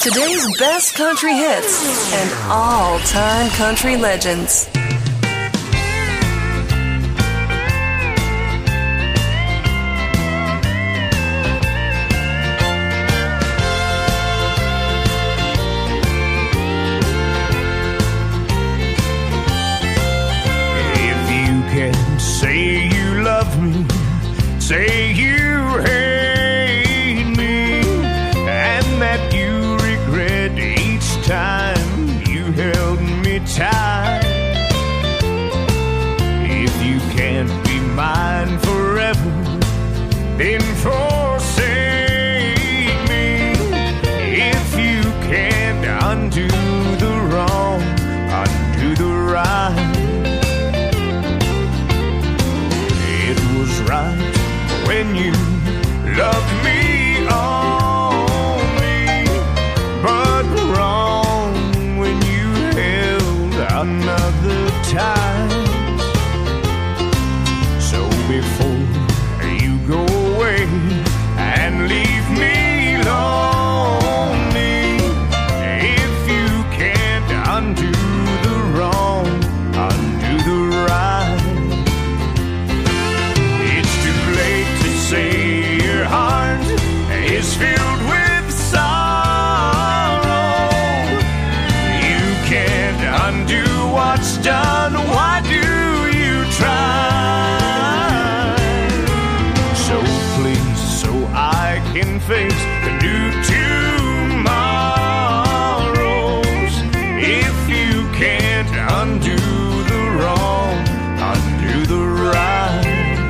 Today's best country hits and all-time country legends. If you can say you love me, say you hate me, and that you regret each time you held me tight. If you can't be mine forever, then forsake me. If you can't undo the wrong, undo the right. It was right when you loved me only, but wrong when you held another tight. So before you go away and leave me lonely, if you can't undo the wrong, undo the right. It's too late to say your heart is filled with sorrow. You can't undo what's done. Why do you try? So please, so I can face the new tomorrows. If you can't undo the wrong, undo the right.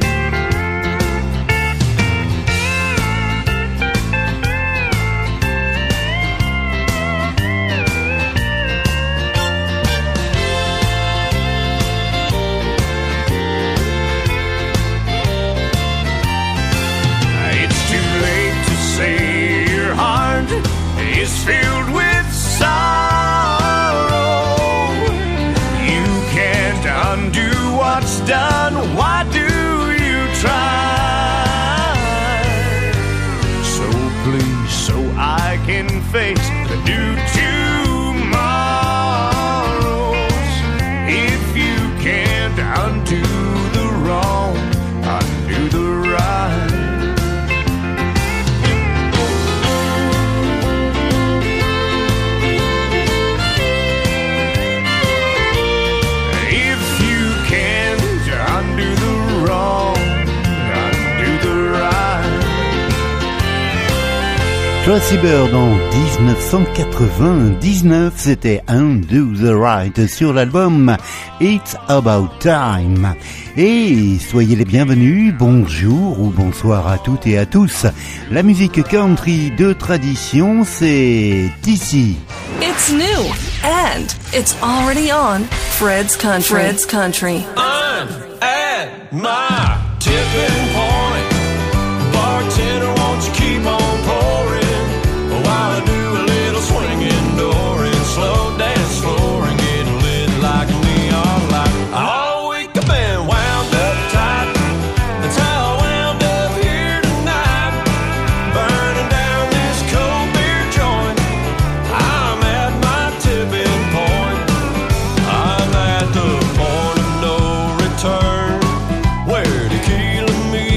It's too late to say your heart is filled with sorrow. You can't undo what's done. Why do you try? So please, so I can face the new tomorrows. If you can't undo the wrong, undo the right. If you can't undo the wrong, undo the right. Tracy Bird en 1999, c'était Undo the Right sur l'album It's About Time. Et soyez les bienvenus, bonjour ou bonsoir à toutes et à tous. La musique country de tradition, c'est ici. It's new and it's already on Fred's Country. Fred's Country. I'm at my tipping point. Bartender, won't you keep on pouring while I do a little swinging door and slow dance floor and get lit like a neon light. All week I've been wound up tight. That's how I wound up here tonight, burning down this cold beer joint. I'm at my tipping point. I'm at the point of no return, where tequila meets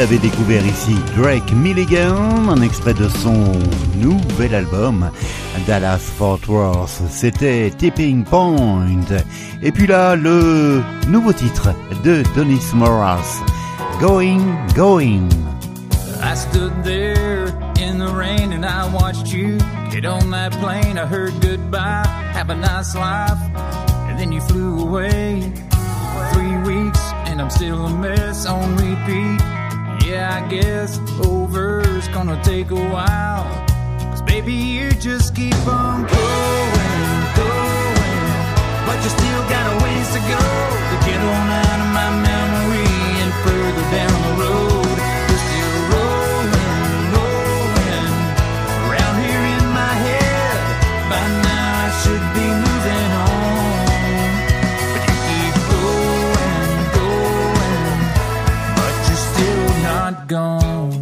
l'avez découvert ici, Drake Milligan, un extrait de son nouvel album Dallas Fort Worth. C'était Tipping Point. Et puis là, le nouveau titre de Donis Morris, Going, Going. I stood there in the rain and I watched you get on that plane. I heard goodbye, have a nice life, and then you flew away. 3 weeks and I'm still a mess on repeat. Yeah, I guess over's gonna take a while, 'cause baby you just keep on going, going, but you still got a ways to go to get on out of my memory and further down the road. You're still rolling, rolling around here in my head. By now I should be moving on, but you keep going, going, but you're still not gone.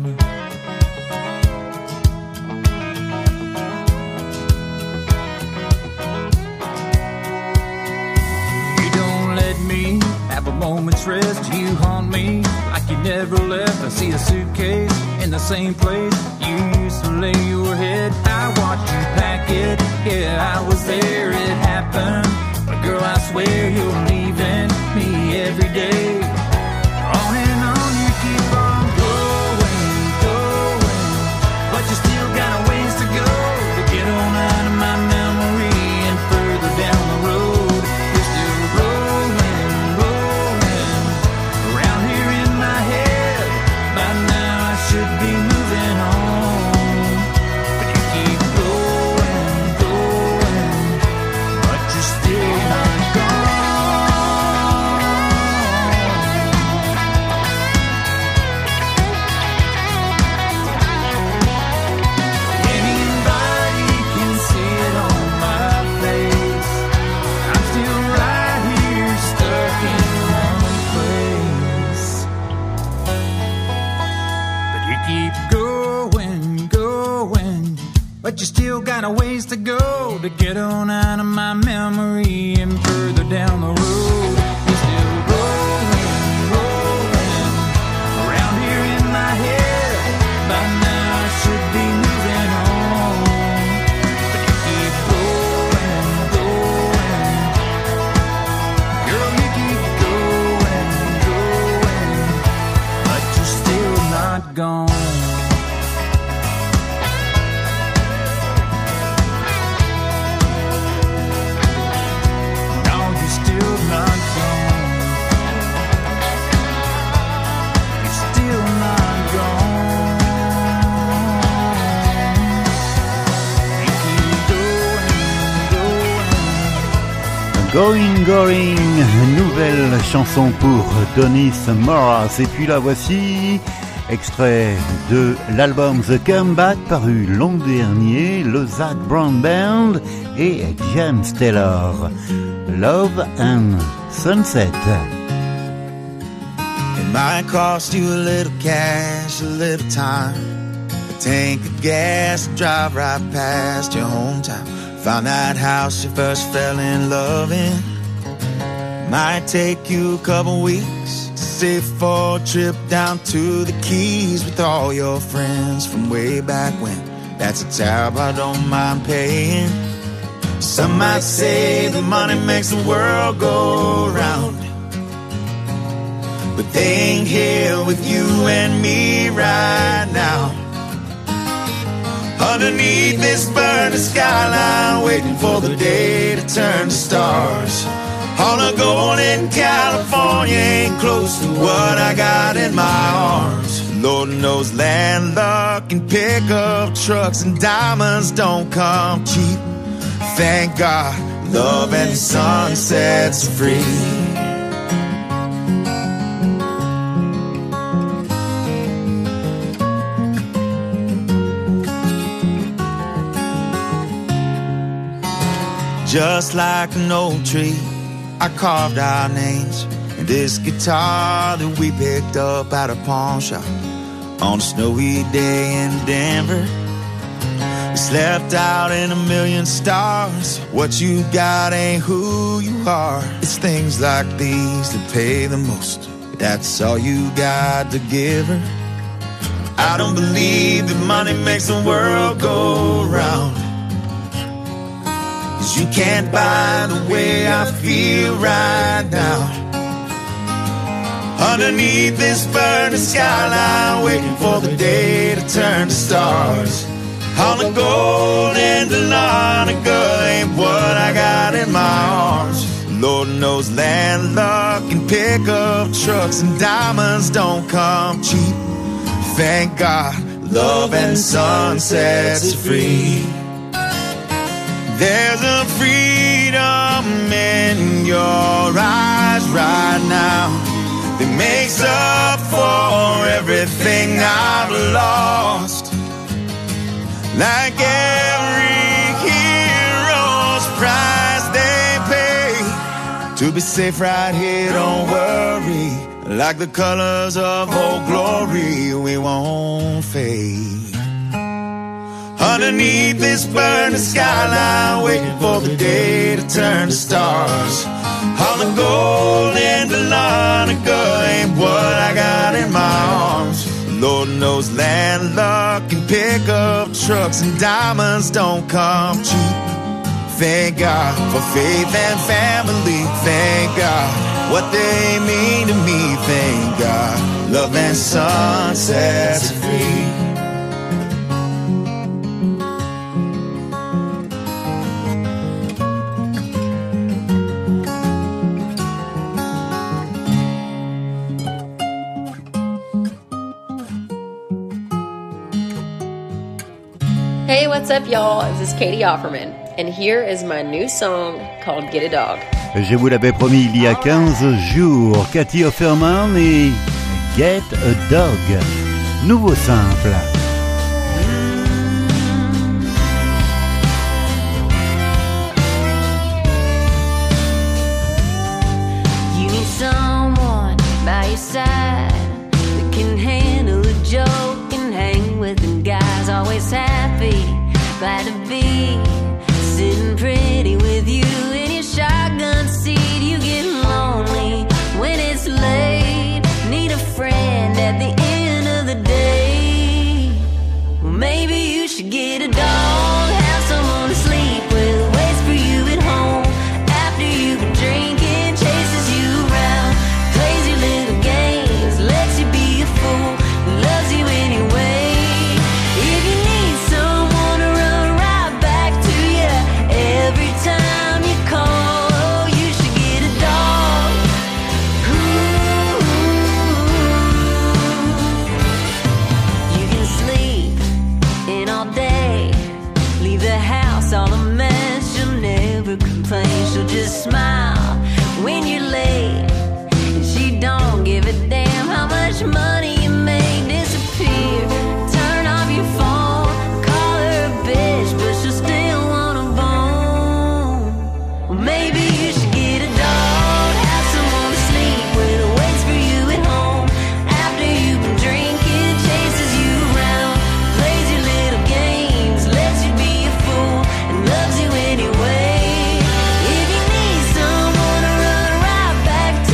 You don't let me have a moment's rest. You haunt me like you never left. I see a suitcase in the same place you used to lay your head. I watched you pack it, yeah, I was there, it happened. But girl, I swear you're leaving me every day. On and on you keep on going, going, but you still got a ways to go to get on out of my memory and further down the road. You're still rolling, rolling around here in my head. By now I should be moving on, but you keep going, going, but you're still not gone. Anybody can see it on my face. I'm still right here stuck in one place. But you keep going, going, but you still got a ways to go to get on out of my memory and further down the road. You're still rolling, rolling around here in my head. By now I should be moving on, but you keep going, going. Girl, you keep going, going, but you're still not gone. No, you're still not gone. You're still not gone. You keep going, going. Going, Going, nouvelle chanson pour Donis Morris. Et puis la voici, extrait de l'album The Comeback paru l'an dernier, le Zac Brown Band et James Taylor, Love and Sunset. It might cost you a little cash, a little time, a tank of gas, drive right past your hometown. Found that house you first fell in love in. Might take you a couple weeks to save for a trip down to the Keys with all your friends from way back when. That's a tab I don't mind paying. Some might say the money makes the world go round, but they ain't here with you and me right now. Underneath this burning skyline, waiting for the day to turn to stars. All the gold in California ain't close to what I got in my arms. Lord knows land luck and pickup trucks and diamonds don't come cheap. Thank God, love and sunsets are free. Just like an old tree, I carved our names in this guitar that we picked up at a pawn shop on a snowy day in Denver. We slept out in a million stars. What you got ain't who you are. It's things like these that pay the most. That's all you got to give her. I don't believe that money makes the world go round. 'Cause you can't buy the way I feel right now. Underneath this burning skyline, waiting for the day to turn to stars. All the gold and the Dahlonega ain't what I got in my arms. Lord knows land luck and pickup trucks and diamonds don't come cheap. Thank God, love and sun sets you free. There's a freedom in your eyes right now that makes up for everything I've lost. Like every hero's price they pay to be safe right here, don't worry. Like the colors of Old Glory, we won't fade. Underneath this burning skyline, waiting for the day to turn to stars. All the gold and the Dahlonega ain't what I got in my arms. Lord knows land luck and pickup trucks and diamonds don't come cheap. Thank God for faith and family. Thank God what they mean to me. Thank God love and sun sets free. Hey, what's up, y'all? This is Katie Offerman, and here is my new song called Get a Dog. Je vous l'avais promis il y a 15 jours, Katie Offerman et Get a Dog. Nouveau simple. You need someone by your side that can handle a joke and hang with them guys. Always happy, glad to be sitting pretty with you in your shotgun seat. You get lonely when it's late, need a friend at the end of the day. Well, maybe you should get a dog, have someone to sleep with, waits for you at home after you've been drinking, chases you around, plays your little games, lets you be a fool, loves you anyway. If you need someone to run right back to you every time you call, you should get a dog. Ooh. You can sleep in all day, leave the house all a mess, she'll never complain, she'll just smile when you're late, and she don't give a damn how much money you make disappear. Turn off your phone, call her a bitch, but she'll still want a bone. Well, maybe you should get a dog, have someone to sleep with, waits for you at home after you've been drinking, chases you around, plays your little games, lets you be a fool, and loves you anyway. If you need someone to run right back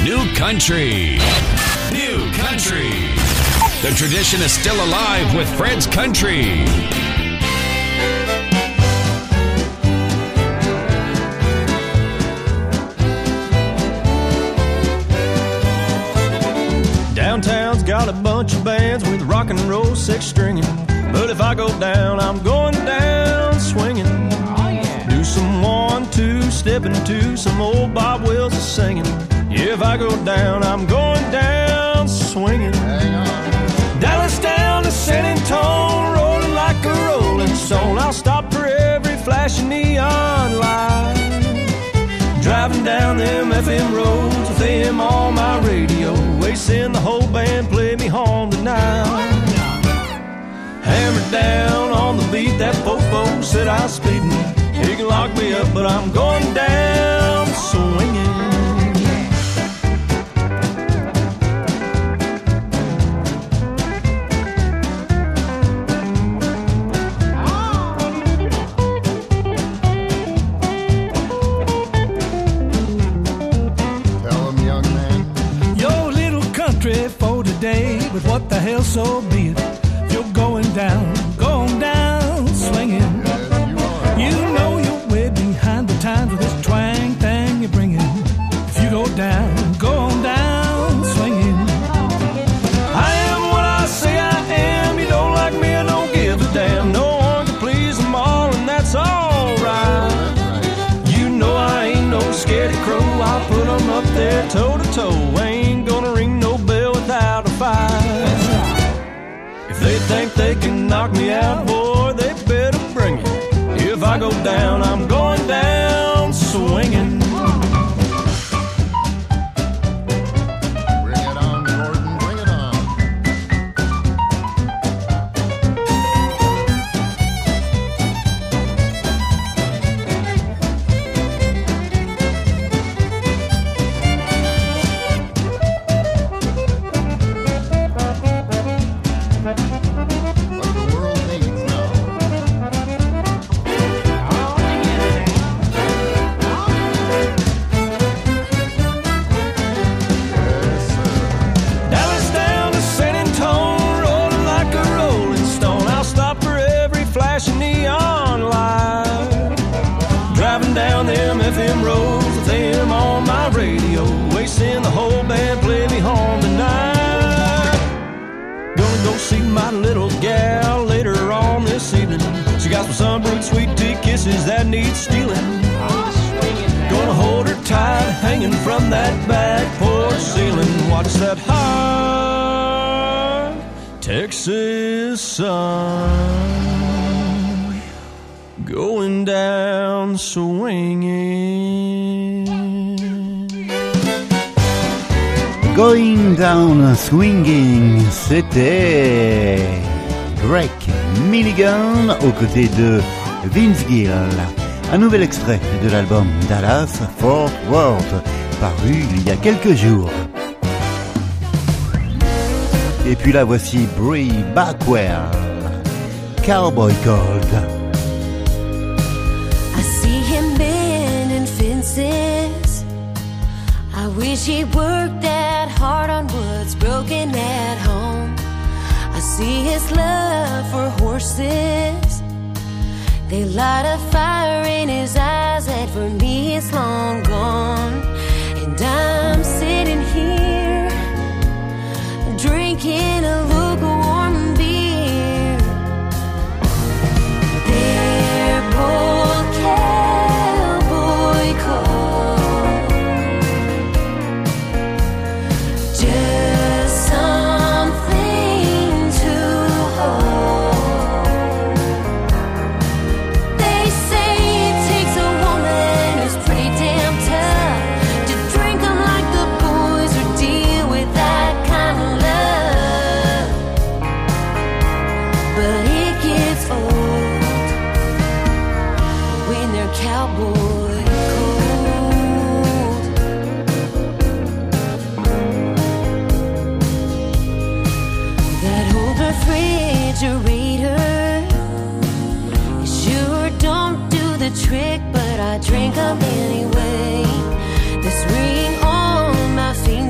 New Country. New Country. The tradition is still alive with Fred's Country. Downtown's got a bunch of bands with rock and roll six stringing. But if I go down, I'm going down swinging. Oh, yeah. Do some 1-2 stepping to some old Bob Wills is singing. Yeah, if I go down, I'm going down swinging. Hang on. Dallas down to San Antonio, rolling like a rolling stone. I'll stop for every flashing neon light. Driving down them FM roads with them on my radio. Wasting the whole band, play me home tonight. Hammered down on the beat, that fofo said I was speeding. He can lock me up, but I'm going down swinging. Tell him, young man. Your little country for today, but what the hell, so be it. Going down, swinging. Yes, you know you're way behind the times with this twang thing you're bringing. If you go down, swinging. I am what I say I am. You don't like me, I don't give a damn. No one can please them all, and that's alright. You know I ain't no scaredy crow. I'll put them up there toe to toe. Ain't gonna ring no bell without a fight. They think they can knock me out, boy, they better bring it. If I go down, I'm going down swinging. Bring it on, Gordon, bring it on. Some brute sweet tea kisses that need stealing. Gonna hold her tight, hanging from that back porch ceiling. Watch that high Texas sun going down swinging. Going down swinging, c'était Drake Milligan aux côtés de Vince Gill. Un nouvel extrait de l'album Dallas Fort Worth, paru il y a quelques jours. Et puis là voici Brie Backwell, Cowboy Gold. I see him bending fences. I wish he worked that hard on what's broken at home. I see his love for horses. They light a fire in his eyes that for me is long gone. And I'm sitting here drinking a lukewarm beer. They're both cowboy cold. Just something to hold. They say it takes a woman who's pretty damn tough to drink them like the boys or deal with that kind of love. But it gets old when they're cowboy cold. That old refrigerator sure don't do the trick, but I drink them anyway. This ring on my finger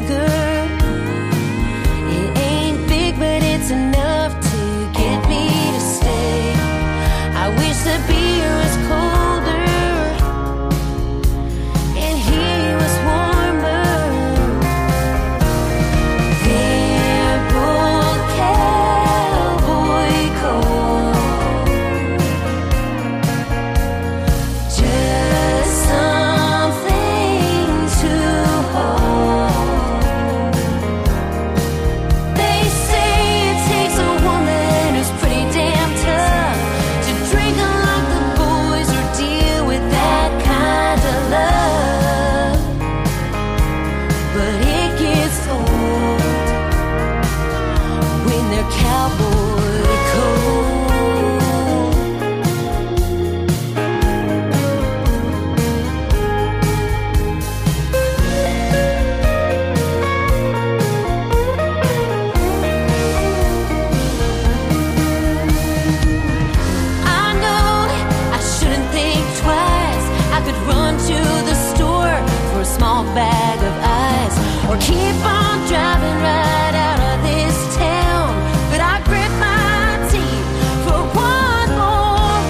small bag of ice, or keep on driving right out of this town. But I grit my teeth for one more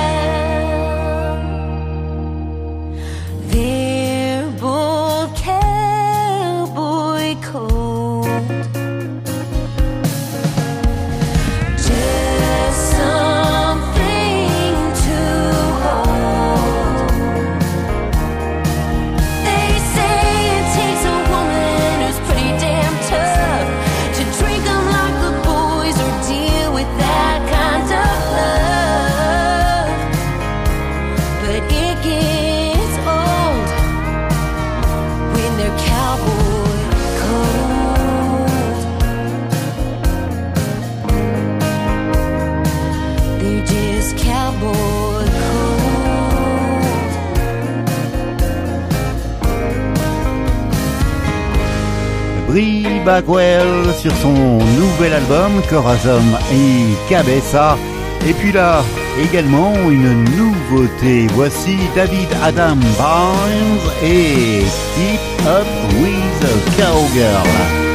round. They're both cowboy cold. Just something to hold. They say it takes a woman who's pretty damn tough to drink 'em like the boys or deal with that kind of love. But it gets old when they're cowboy cold. They're just cowboy cold. Brie Bagwell sur son nouvel album Corazon et Cabeza. Et puis là, également une nouveauté. Voici David Adam Barnes et Keep Up With a Cowgirl.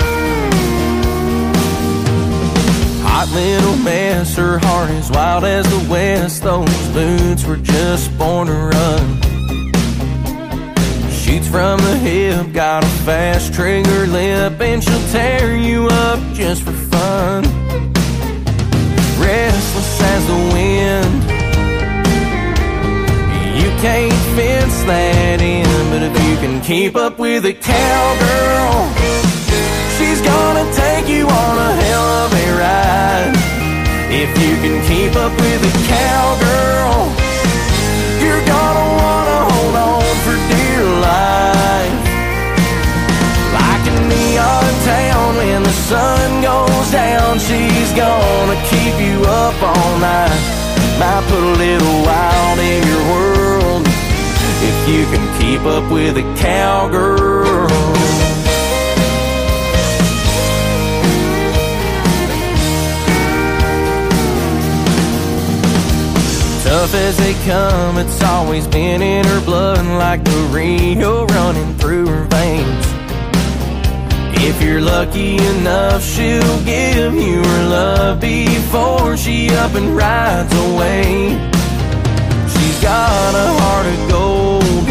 Hot little mess, her heart is wild as the west. Those boots were just born to run. Shoots from the hip, got a fast trigger lip, and she'll tear you up just for fun. Restless as the wind, you can't fence that in. But if you can keep up with a cowgirl, she's gonna take you on a hell of a ride. If you can keep up with a cowgirl, you're gonna wanna hold on for dear life. Like a neon town when the sun goes down, she's gonna keep you up all night. Might put a little wild in your world if you can keep up with a cowgirl. Tough as they come, it's always been in her blood, like the Rio running through her veins. If you're lucky enough, she'll give you her love before she up and rides away. She's got a heart of gold,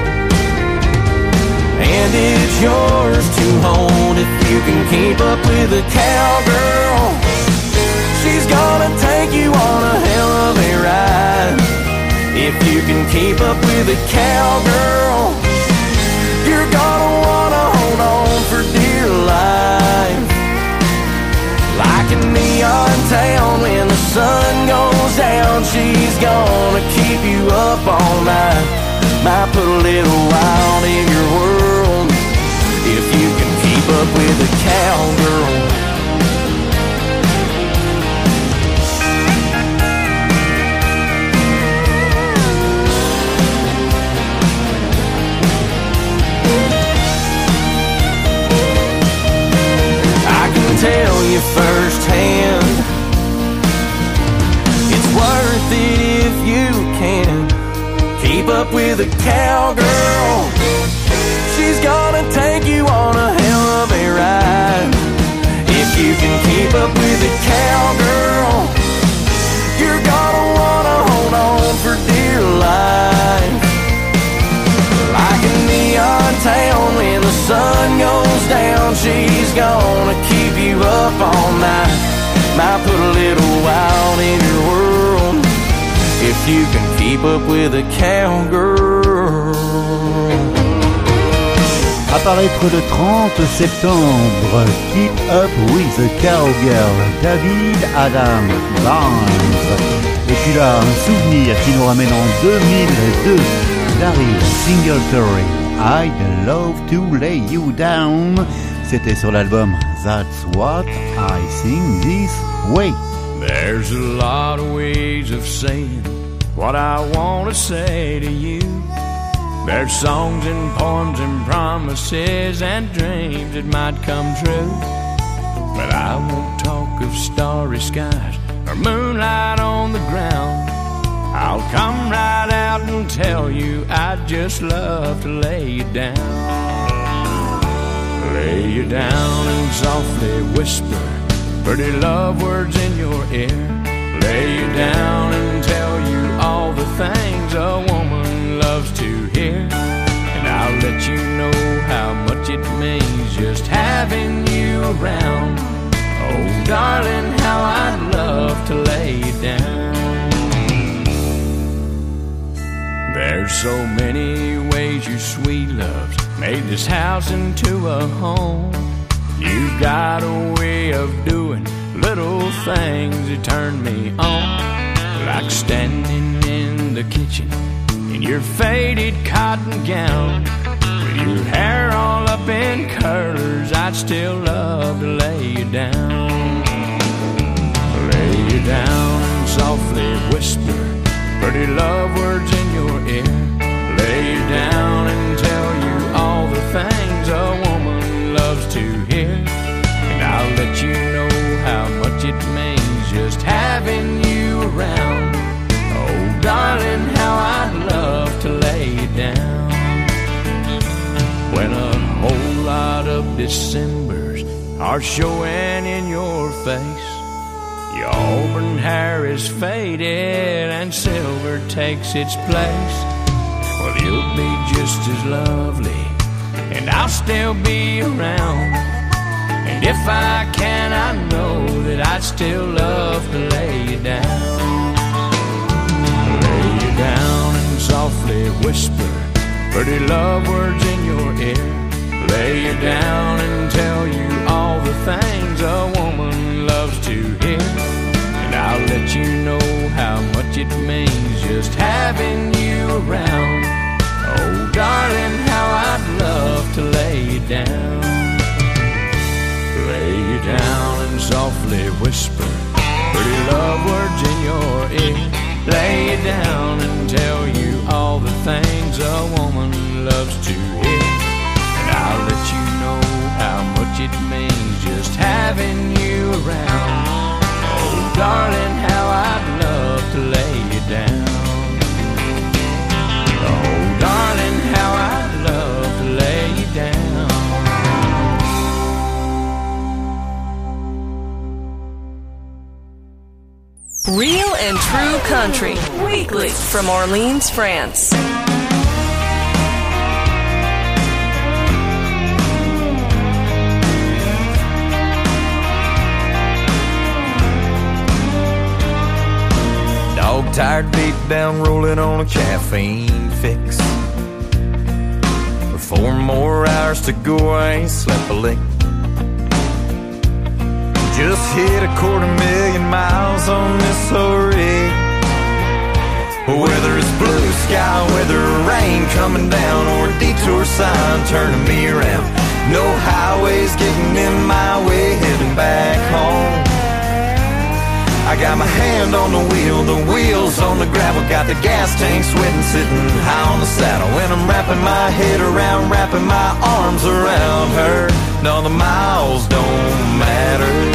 and it's yours to hold if you can keep up with a cowgirl. She's gonna take you on a hell of a ride. If you can keep up with a cowgirl, you're gonna wanna hold on for dear life. Like a neon town when the sun goes down, she's gonna keep you up all night. Might put a little wild in your world if you can keep up with a cowgirl. Tell you firsthand, it's worth it if you can keep up with a cowgirl. She's gonna take you on a hell of a ride. If you can keep up with a cowgirl, you're gonna wanna hold on for dear life. Like a neon town when the sun goes down, she's gonna keep you up all night. Might put a little wild in your world if you can keep up with a cowgirl. Apparaître le 30 septembre, Keep Up With a Cowgirl, David Adam Barnes. Et puis là, un souvenir qui nous ramène en 2002, Larry Singletary, I'd Love to Lay You Down. C'était sur l'album That's What I Sing This Way. There's a lot of ways of saying what I want to say to you. There's songs and poems and promises and dreams that might come true. But I won't talk of starry skies or moonlight on the ground. I'll come right out and tell you I'd just love to lay you down. Lay you down and softly whisper pretty love words in your ear. Lay you down and tell you all the things a woman loves to hear. And I'll let you know how much it means just having you around. Oh, darling, how I'd love to lay you down. There's so many ways your sweet love's made this house into a home. You've got a way of doing little things that turn me on. Like standing in the kitchen in your faded cotton gown, with your hair all up in curlers, I'd still love to lay you down. Lay you down and softly whisper pretty love words in your ear. Lay you down and tell you all the things a woman loves to hear. And I'll let you know how much it means just having you around. Oh, darling, how I'd love to lay you down. When a whole lot of Decembers are showing in your face, your auburn hair is faded and silver takes its place. Well, you'll be just as lovely and I'll still be around. And if I can, I know that I'd still love to lay you down. Lay you down and softly whisper pretty love words in your ear. Lay you down and tell you all the things a woman loves to hear. And I'll let you know how much it means just having you around. Oh, darling, how I'd love to lay you down. Lay you down and softly whisper pretty love words in your ear. Lay you down and tell you all the things a woman loves to hear. And I'll let you know how much it means just having you around. Oh, darling, how I'd love to lay you down. Oh, darling, how I'd love to lay you down. Real and True Country, weekly from Orleans, France. Dog tired, beat down, rolling on a caffeine fix. For 4 more hours to go, I ain't slept a lick. Just hit 250,000 miles on this old rig. Whether it's blue sky, whether rain coming down, or a detour sign turning me around, no highways getting in my way, heading back home. I got my hand on the wheels on the gravel, got the gas tank sweating, sitting high on the saddle. When I'm wrapping my head around, wrapping my arms around her, no, the miles don't matter.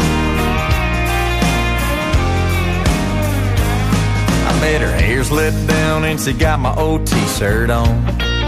I bet her hair's let down and she got my old t-shirt on,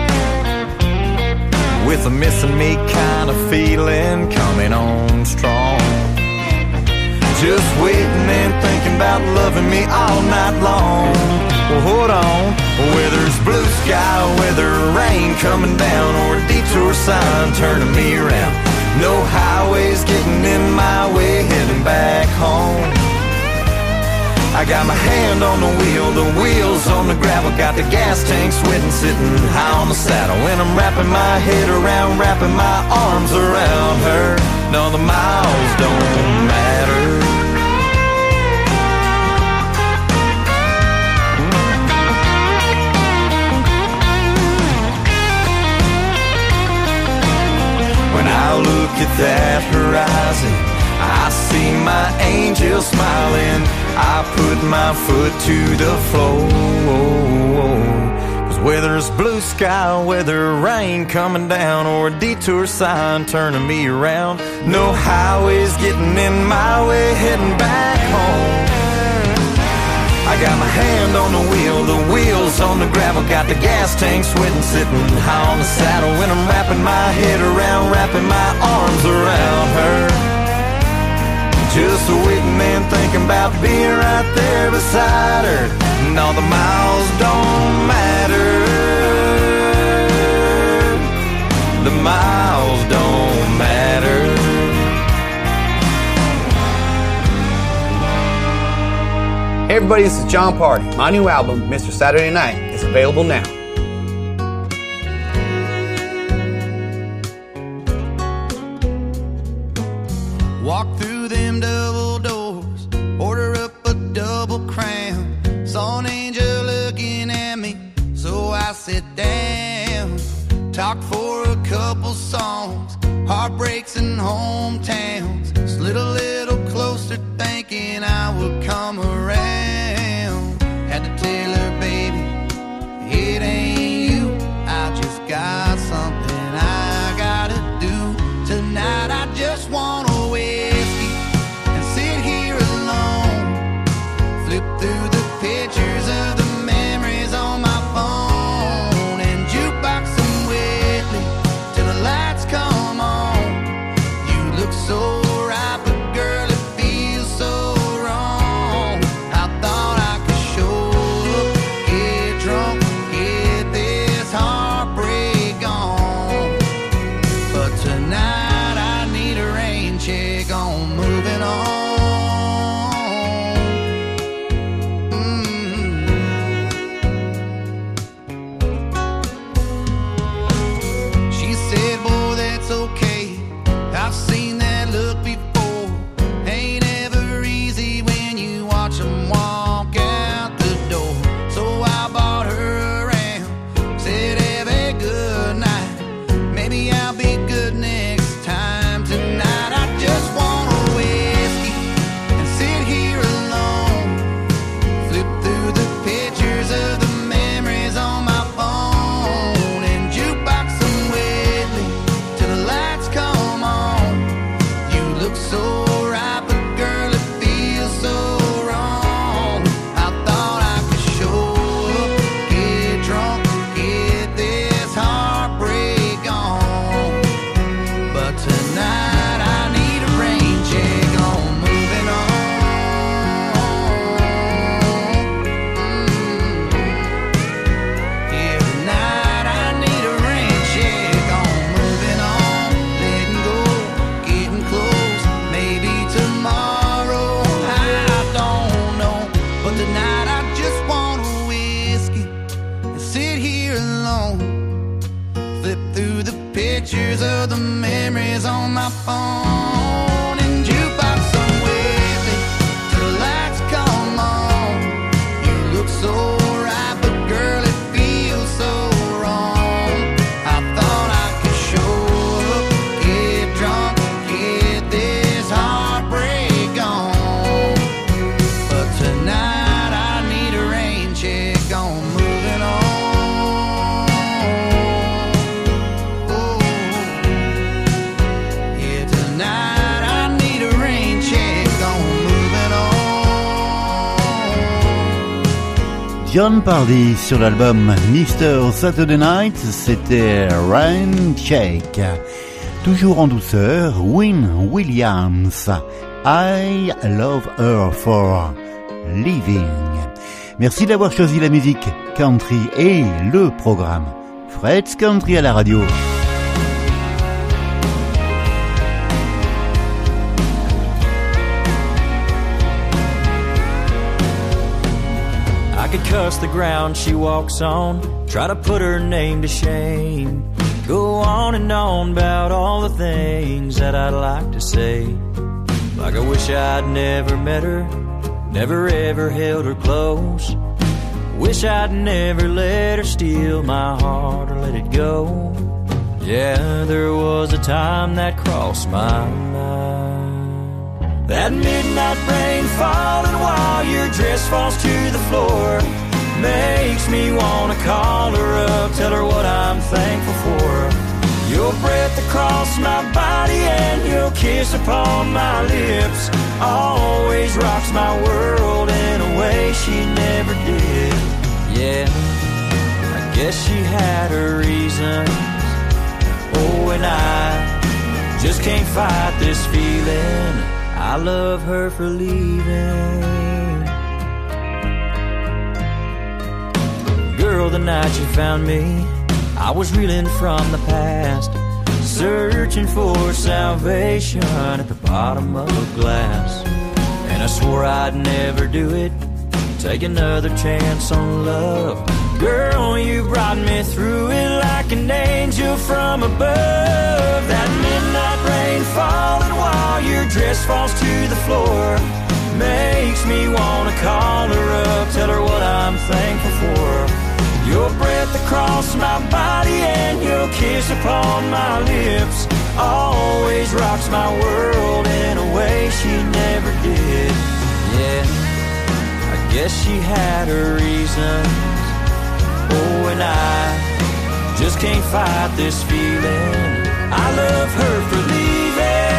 with a missing me kind of feeling coming on strong. Just waiting and thinking about loving me all night long. Well, hold on. Whether it's blue sky, whether rain coming down, or a detour sign turning me around, no highways getting in my way, heading back home. I got my hand on the wheels on the gravel, got the gas tank sweating, sitting high on the saddle. When I'm wrapping my head around, wrapping my arms around her, no, the miles don't matter. When I look at that horizon, I see my angel smiling. I put my foot to the floor. 'Cause whether it's blue sky, whether rain coming down, or a detour sign turning me around, no highways getting in my way, heading back home. I got my hand on the wheels on the gravel, got the gas tank sweating, sitting high on the saddle. When I'm wrapping my head around, wrapping my arms around her, just waiting and thinking about being right there beside her. And all the miles don't matter, the miles don't matter. Hey everybody, this is John Party. My new album, Mr. Saturday Night, is available now. Walk through them double doors, order up a double crown. Saw an angel looking at me, so I sit down. Talk for a couple songs, heartbreaks and hometowns. Slid a little closer thinking I would come around. Had to tell her, baby, it ain't you. I just got something I gotta do. Tonight I just want a whiskey and sit here alone. Flip through the pictures of the memories on my phone and jukebox some Whitley till the lights come on. You look so right, but girl, it feels so wrong. I thought I could show up, get drunk, get this heartbreak on. But tonight I need a rain check on moving on. She said, boy, that's okay, I've seen that look before. Ain't ever easy when you watch them walk out the door. So I bought her around, said have a good night, maybe I'll be good next time. Tonight I just want a whiskey and sit here alone. Flip through the pictures of the memories on my phone and jukebox some Whitley till the lights come on. You look so right, but girl, it feels so wrong. I thought I could show up, get drunk, get this heartbreak on. But tonight I need a rain check on moving on. Yeah, tonight I need a rain check on moving on. Letting go, getting close, maybe tomorrow, I don't know. But tonight I just want a whiskey and sit here alone. Flip through the pictures of the memories on my phone and jukebox some Whitley till the lights come on. You look so right, but girl, it feels so wrong. I thought I could show up, get drunk, get this heartbreak on. But tonight I need a rain check on moving on. Yeah, tonight I need a rain check on moving on. John Pardy sur l'album Mr. Saturday Night, c'était Rain Check. Toujours en douceur, Wynn Williams, I Love Her for Living. Merci d'avoir choisi la musique country et le programme Fred's Country à la radio. I could cuss the ground she walks on, try to put her name to shame, go on and on about all the things that I'd like to say. Like I wish I'd never met her, never ever held her close. Wish I'd never let her steal my heart or let it go. Yeah, there was a time that crossed my mind. That midnight rain falling while your dress falls to the floor makes me wanna call her up, tell her what I'm thankful for. Your breath across my body and your kiss upon my lips always rocks my world in a way she never did. Yeah, I guess she had her reasons. Oh, and I just can't fight this feeling. I love her for leaving. Girl, the night you found me, I was reeling from the past, searching for salvation at the bottom of a glass. And I swore I'd never do it, take another chance on love. Girl, you brought me through it like an angel from above. That midnight rain falling while your dress falls to the floor makes me wanna call her up, tell her what I'm thankful for. Your breath across my body and your kiss upon my lips always rocks my world in a way she never did. Yeah, I guess she had her reasons. Oh, and I just can't fight this feeling. I love her for leaving.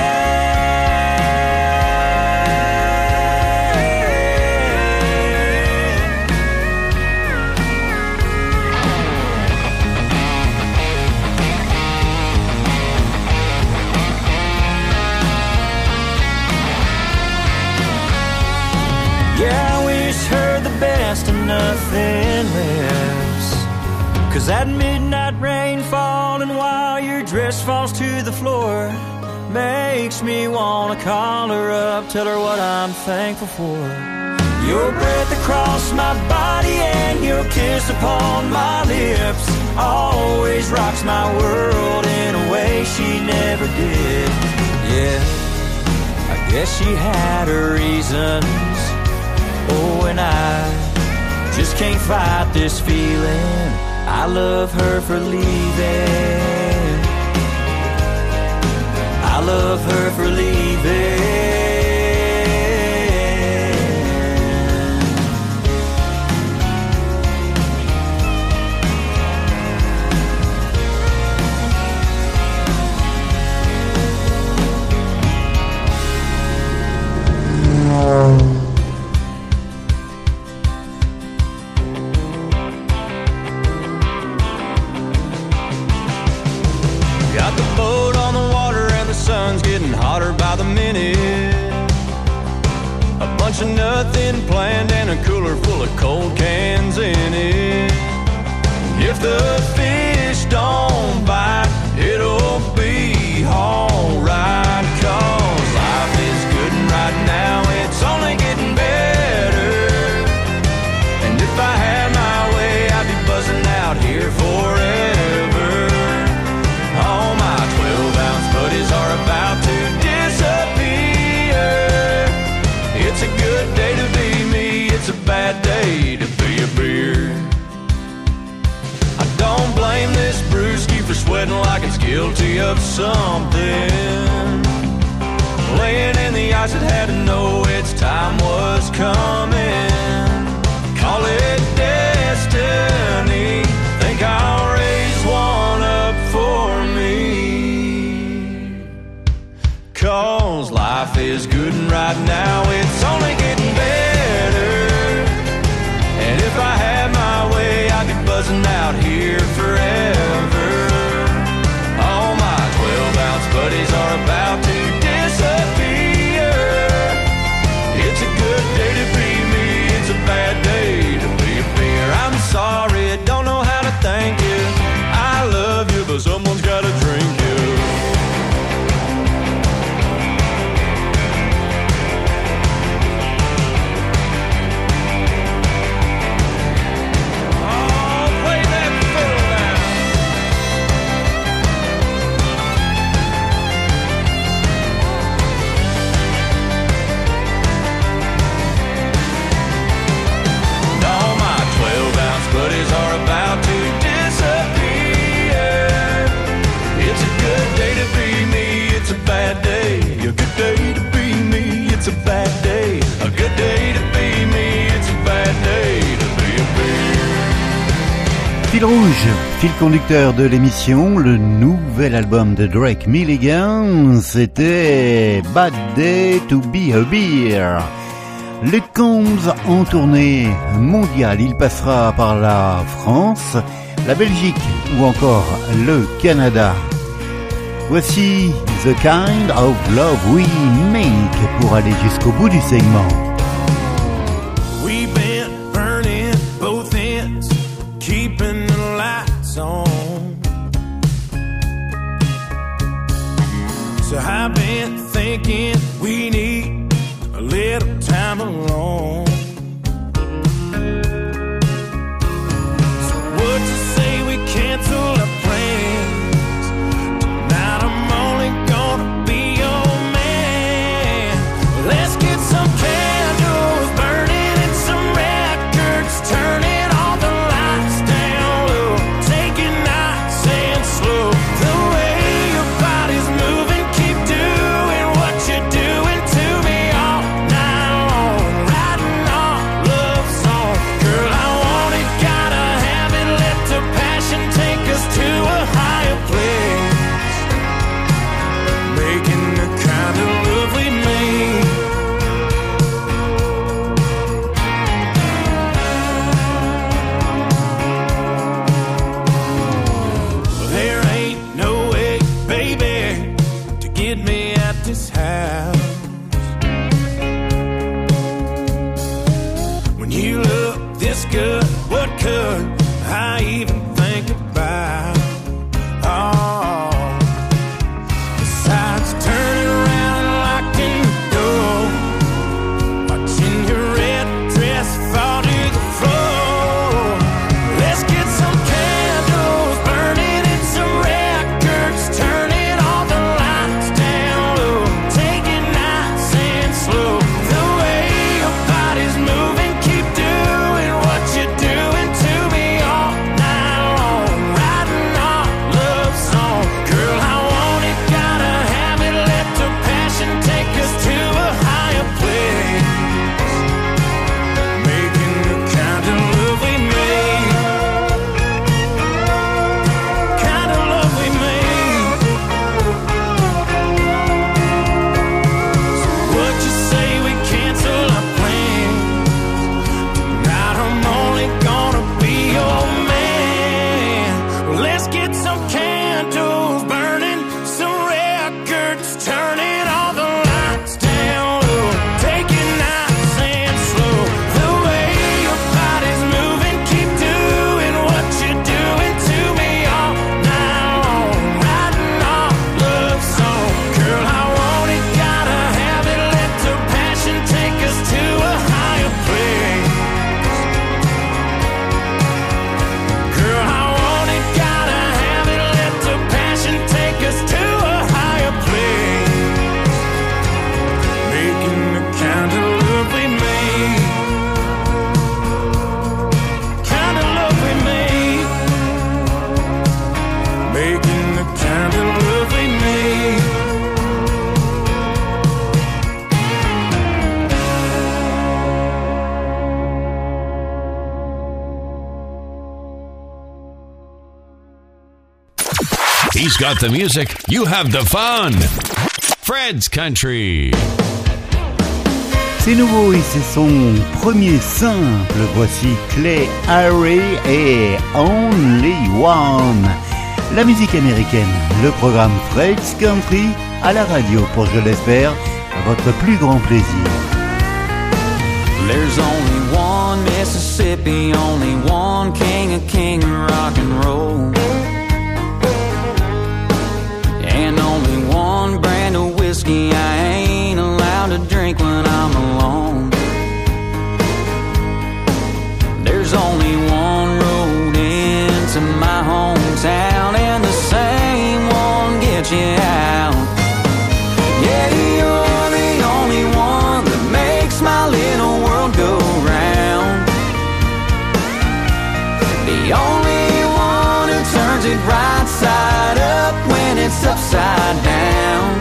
Yeah, I wish her the best and nothing less. 'Cause that midnight rain falling while your dress falls to the floor makes me wanna call her up, tell her what I'm thankful for. Your breath across my body and your kiss upon my lips always rocks my world in a way she never did. Yeah, I guess she had her reasons. Oh, and I just can't fight this feeling. I love her for leaving. I love her for leaving. Hotter by the minute. A bunch of nothing planned and a cooler full of cold cans in it. If the fish don't bite, it'll be alright. 'Cause life is good and right now it's only getting better. And if I had my way, I'd be buzzing out here forever. All my 12-ounce buddies are about to disappear. It's a good day to be me, it's a bad day to be a beer. I don't blame this brewski for sweating like it's guilty of something. Laying in the ice, it had to know its time was coming. Call it destiny, think I'll raise one up for me. 'Cause life is good and right now it's only getting better. And if I had my way, I'd be buzzing out here forever. All my 12-ounce buddies are about to disappear. It's a good day to be me, it's a bad day to be a beer. I'm sorry, don't know how to thank you. I love you, but someone's gotta drink you. Buddies are about to disappear. It's a good day to be me, it's a bad day. A good day to be me, it's a bad day. A good day to be me, it's a bad day to be a beer. Fil rouge, fil conducteur de l'émission, le nouvel album de Drake Milligan, c'était Bad Day to Be a Beer. Les Combs en tournée mondiale. Il passera par la France, la Belgique ou encore le Canada. Voici The Kind of Love We Make pour aller jusqu'au bout du segment. We've been burning both ends, keeping the lights on. So I've been thinking we need a little time alone. So what you say we cancel our plans? Tonight I'm only gonna be your man. Let's get some candles burning and some records turning, all the lights down low, take it nice and slow. The way your body's moving, keep doing what you're doing to me all night long, writing our love song. Girl, I want it, gotta have it, let the passion take us to a higher place, making the kind of love we made. Well, there ain't no way, baby, to get me at this house. When you look this good, what could I even think about? Oh, besides turning around and locking the door, watching your red dress fall to the floor. Let's get some candles burning and some records turning, all the lights down low, take it nice and slow. The way your body's moving, keep doing what you're doing to me all night long, writing our love song. Girl, I want it, gotta have it, let the passion take us to a higher place, making the kind of love we made, kind of love we made. So what you say we cancel our plans? Tonight I'm only gonna be your man. Let's get some candles burning, some records turning, all the lights down low, take it nice and slow. The way your body's moving, keep doing what you're doing to me all night long, writing our love song. Girl, I want it, gotta have it, let the passion take us to a higher place. Girl, I want it, gotta have it, let the passion take us to a higher place, making the kind of love we made, kind of love we made, making the kind of love we made. He's got the music, you have the fun. Fred's Country. C'est nouveau et c'est son premier simple. Voici Clay Harry et Only One. La musique américaine, le programme Fred's Country à la radio pour, je l'espère, votre plus grand plaisir. There's only one Mississippi, only one king of rock and roll, and only one brand of whiskey I ain't allowed to drink when I'm alone. There's only one road into my hometown, and the same one gets you out. Yeah, you're the only one that makes my little world go round. The only one who turns it right side up when it's upside down.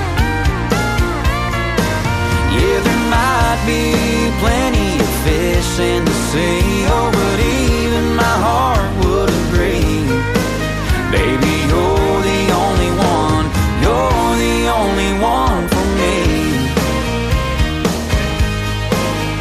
Yeah, there might be plenty of fish in the sea, oh, but even my heart would agree. Baby, you're the only one, you're the only one for me.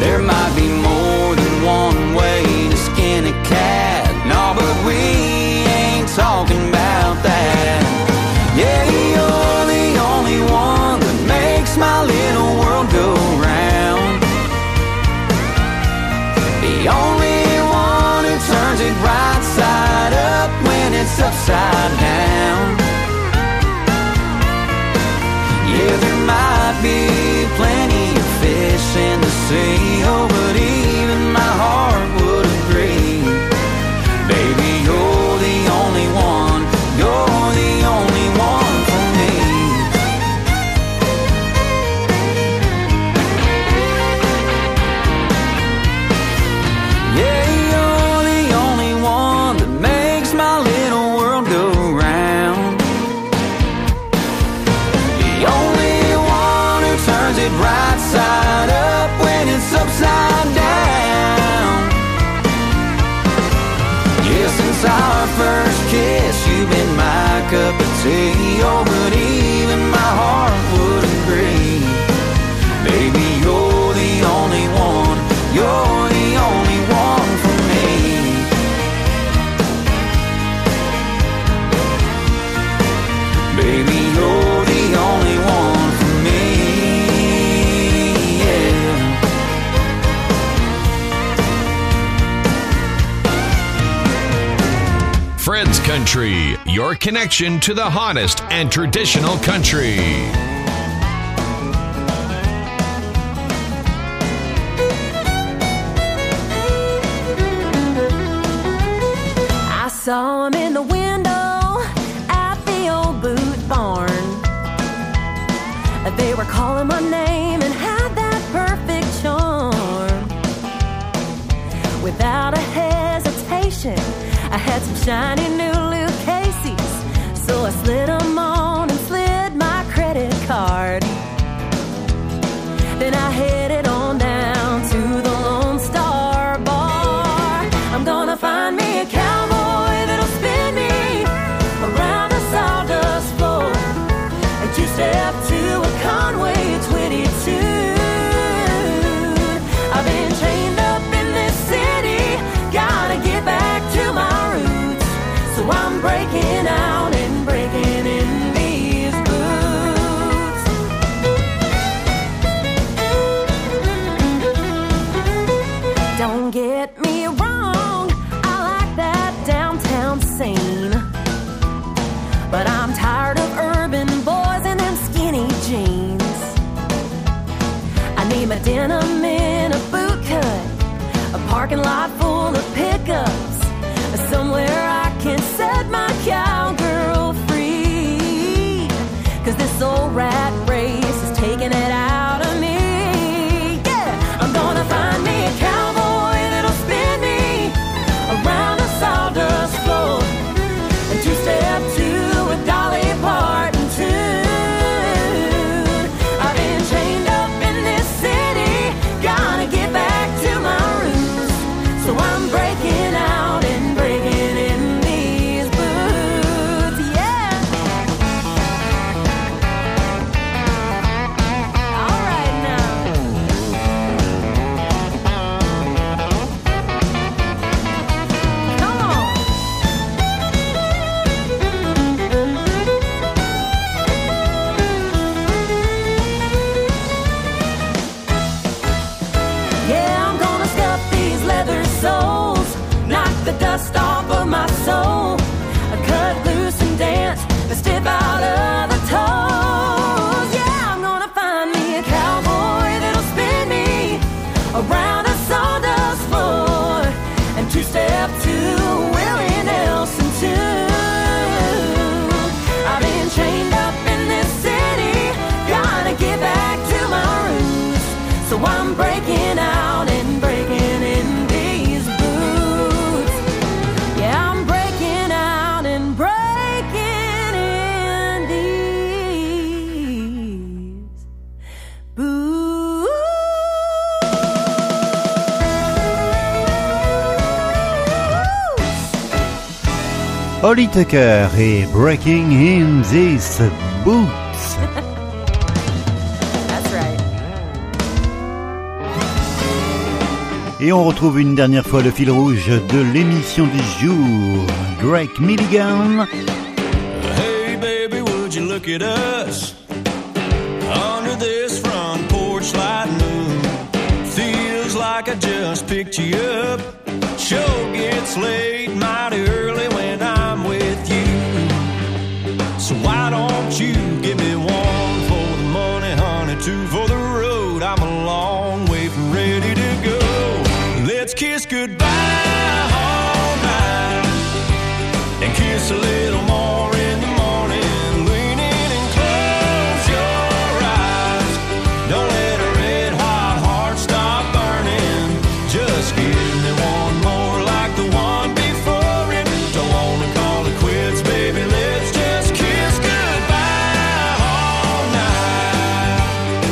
There might be more than one way to skin a cat. No, but we ain't talking about that. Yeah, you're the only one that makes my little world go round. The only one who turns it right side up when it's upside down. Yeah, there might be plenty of fish in the sea, oh, but even my heart would agree. Baby, you're the only one, you're the only one for me. Yeah, you're the only one that makes my little world go round. The only one who turns it right side up when it's upside down. Yeah, since our first kiss, you've been my cup of tea. Oh, but even my heart would agree. Baby, you're the only one, you're the only one for me. Baby, you're the only one for me. Yeah. Fred's Country, your connection to the hottest and traditional country. I saw him in the window at the old boot barn. They were calling my name and had that perfect charm. Without a hesitation, I had some shiny new Luke Casey's, so I slid them on and slid my credit card. Then I headed on down to the Lone Star Bar. I'm gonna find me a cowboy that'll spin me around the sawdust floor and two-step to a Conway 22. I've been chained up in this city, gotta get back to my roots. So I'm breaking out and breaking in these boots. Don't get me wrong, I like that downtown scene, but I'm tired of urban boys and them skinny jeans. I need my denim in a boot cut, a parking lot full of pickups, somewhere I can set my cowgirl free. 'Cause this old rat race is taking it out of me. Yeah, I'm gonna find me a cowboy that'll spin me around the sawdust floor and two-step to a Dolly Parton tune. I've been chained up in this city, gotta get back to my roots. So I'm breaking out and breaking in these boots, yeah. All right now. Come on. Yeah, I'm gonna scuff these leather soles, knock the dust off of my soul, cut loose and dance the stiff out of the toes. Yeah, I'm gonna find me a cowboy that'll spin me around a sawdust floor and two-step to Willie Nelson tune. I've been chained up in this city, gotta get back to my roots. So I'm breaking out and breaking in these boots. Yeah, I'm breaking out and breaking in these boots. Holly Tucker et Breaking in These Boots. That's right. Et on retrouve une dernière fois le fil rouge de l'émission du jour. Drake Milligan. Hey baby, would you look at us under this front porch light moon? Feels like I just picked you up. Show gets late mighty early when I'm with you. So why don't you give me one for the money, honey, two for the road? I'm a long way from ready to go. Let's kiss goodbye all night and kiss a little more in the morning. Lean in and close your eyes. Don't let a red hot heart stop burning. Just give me one more like the one before it. Don't wanna call it quits, baby. Let's just kiss goodbye all night.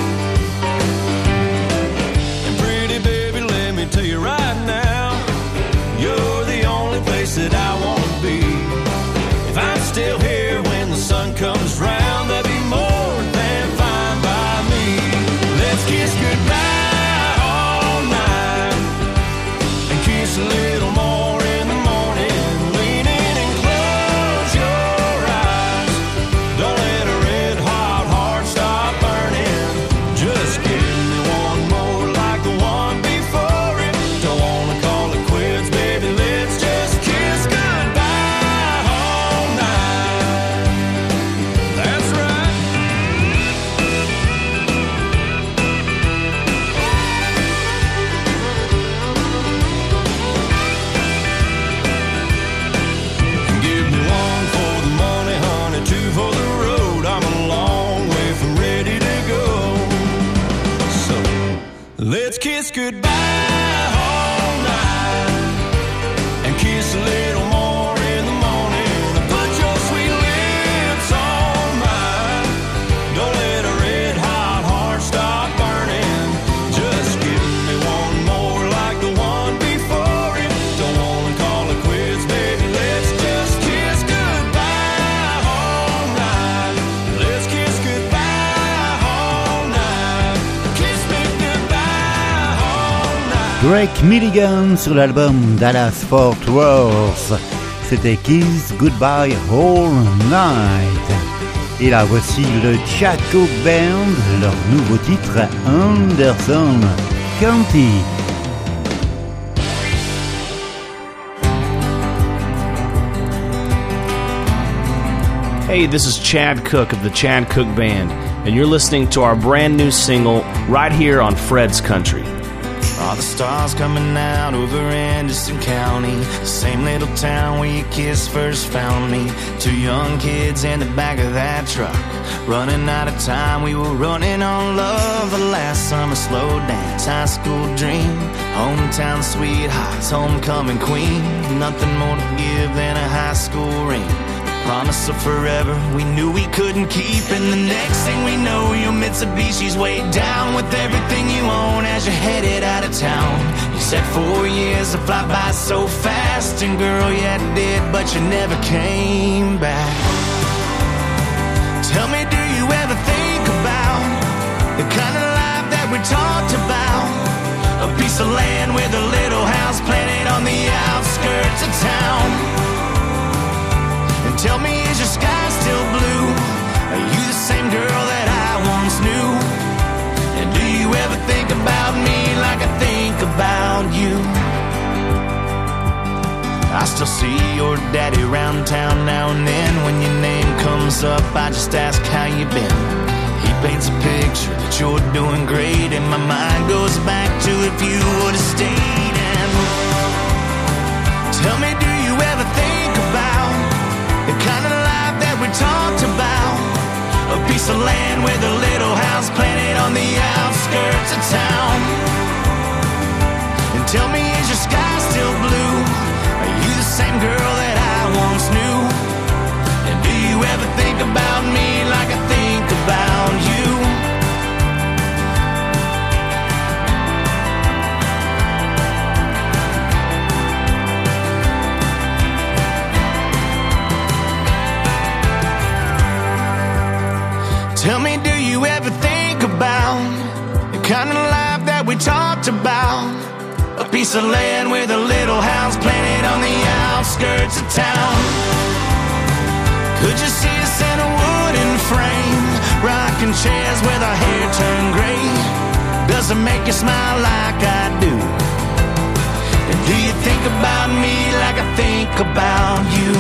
And pretty baby, let me tell you right now, you're the only place that I wanna be. If I'm still here when the sun comes round, that'd be more than fine by me. Let's kiss goodbye all night and kiss a little more in the morning. Lean in and close your eyes. Don't let a red hot heart stop burning. Just give me one more like the one before it. Don't wanna call it quits, baby. Let's just kiss goodbye all night. That's right. Give me one for the money, honey, two for the road. I'm a long way from ready to go. So let's kiss goodbye all night and kiss a little more in the morning. Put your sweet lips on mine. Don't let a red hot heart stop burning. Just give me one more like the one before it. Don't wanna call it quits, baby. Let's just kiss goodbye all night. Let's kiss goodbye all night. Kiss me goodbye all night. Drake Milligan sur l'album Dallas Fort Worth. C'était Kiss Goodbye All Night. Et là voici le Chaco Band, leur nouveau titre Anderson County. Hey, this is Chad Cook of the Chad Cook Band, and you're listening to our brand new single right here on Fred's Country. All the stars coming out over Anderson County, the same little town where your kiss first found me. Two young kids in the back of that truck, running out of time. We were running on love. The last summer slow dance, high school dream, hometown sweethearts, homecoming queen. Nothing more to give than a high school ring. Promise of forever we knew we couldn't keep. And the next thing we know, your Mitsubishi's weighed down with everything you own as you're headed out of town. You said 4 years to fly by so fast, and girl, yeah, it did, but you never came back. Tell me, do you ever think about the kind of life that we talked about? A piece of land with a little house planted on the outskirts of town. And tell me, is your sky still blue? Are you the same girl that I once knew? And do you ever think about me like I think about you? I still see your daddy around town now and then. When your name comes up, I just ask how you been. He paints a picture that you're doing great, and my mind goes back to if you would've stayed. And tell me, do you ever think about the kind of life that we talked about? A piece of land with a little house planted on the outskirts of town. And tell me, is your sky still blue? Are you the same girl that I once knew? And do you ever think about me like I think about you? Tell me, do you ever think about the kind of life that we talked about? A piece of land with a little house planted on the outskirts of town. Could you see us in a wooden frame, rocking chairs with our hair turned gray? Does it make you smile like I do? And do you think about me like I think about you?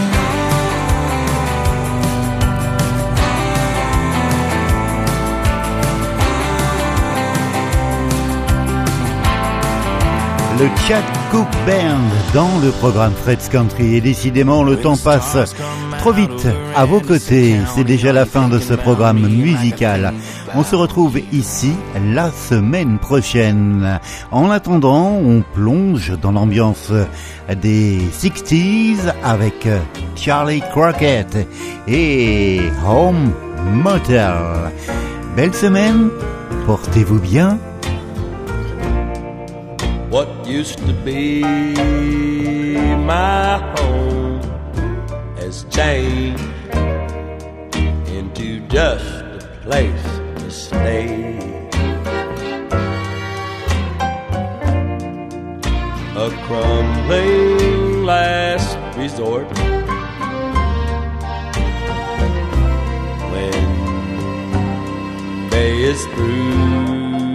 Le Chad Cooke Band dans le programme Fred's Country. Et décidément, le temps passe trop vite à vos côtés. C'est déjà la fin de ce programme musical. On se retrouve ici la semaine prochaine. En attendant, on plonge dans l'ambiance des 60s avec Charlie Crockett et Home Motel. Belle semaine, portez-vous bien. What used to be my home has changed into just a place to stay. A crumbling last resort when day is through.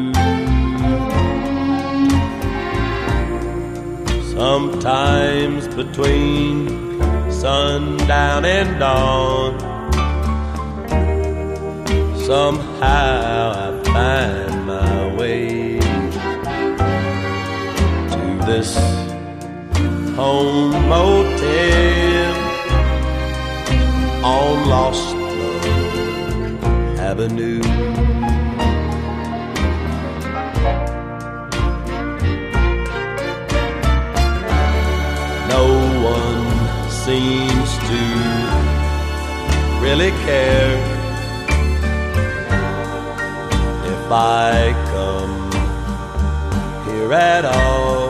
Sometimes between sundown and dawn, somehow I find my way to this home motel on Lost Love Avenue. No one seems to really care if I come here at all.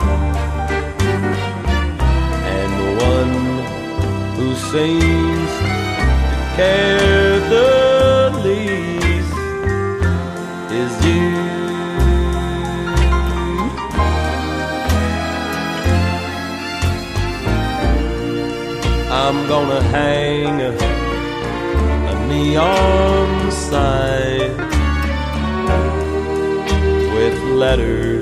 And the one who seems to care the least is you. I'm gonna hang a neon sign with letters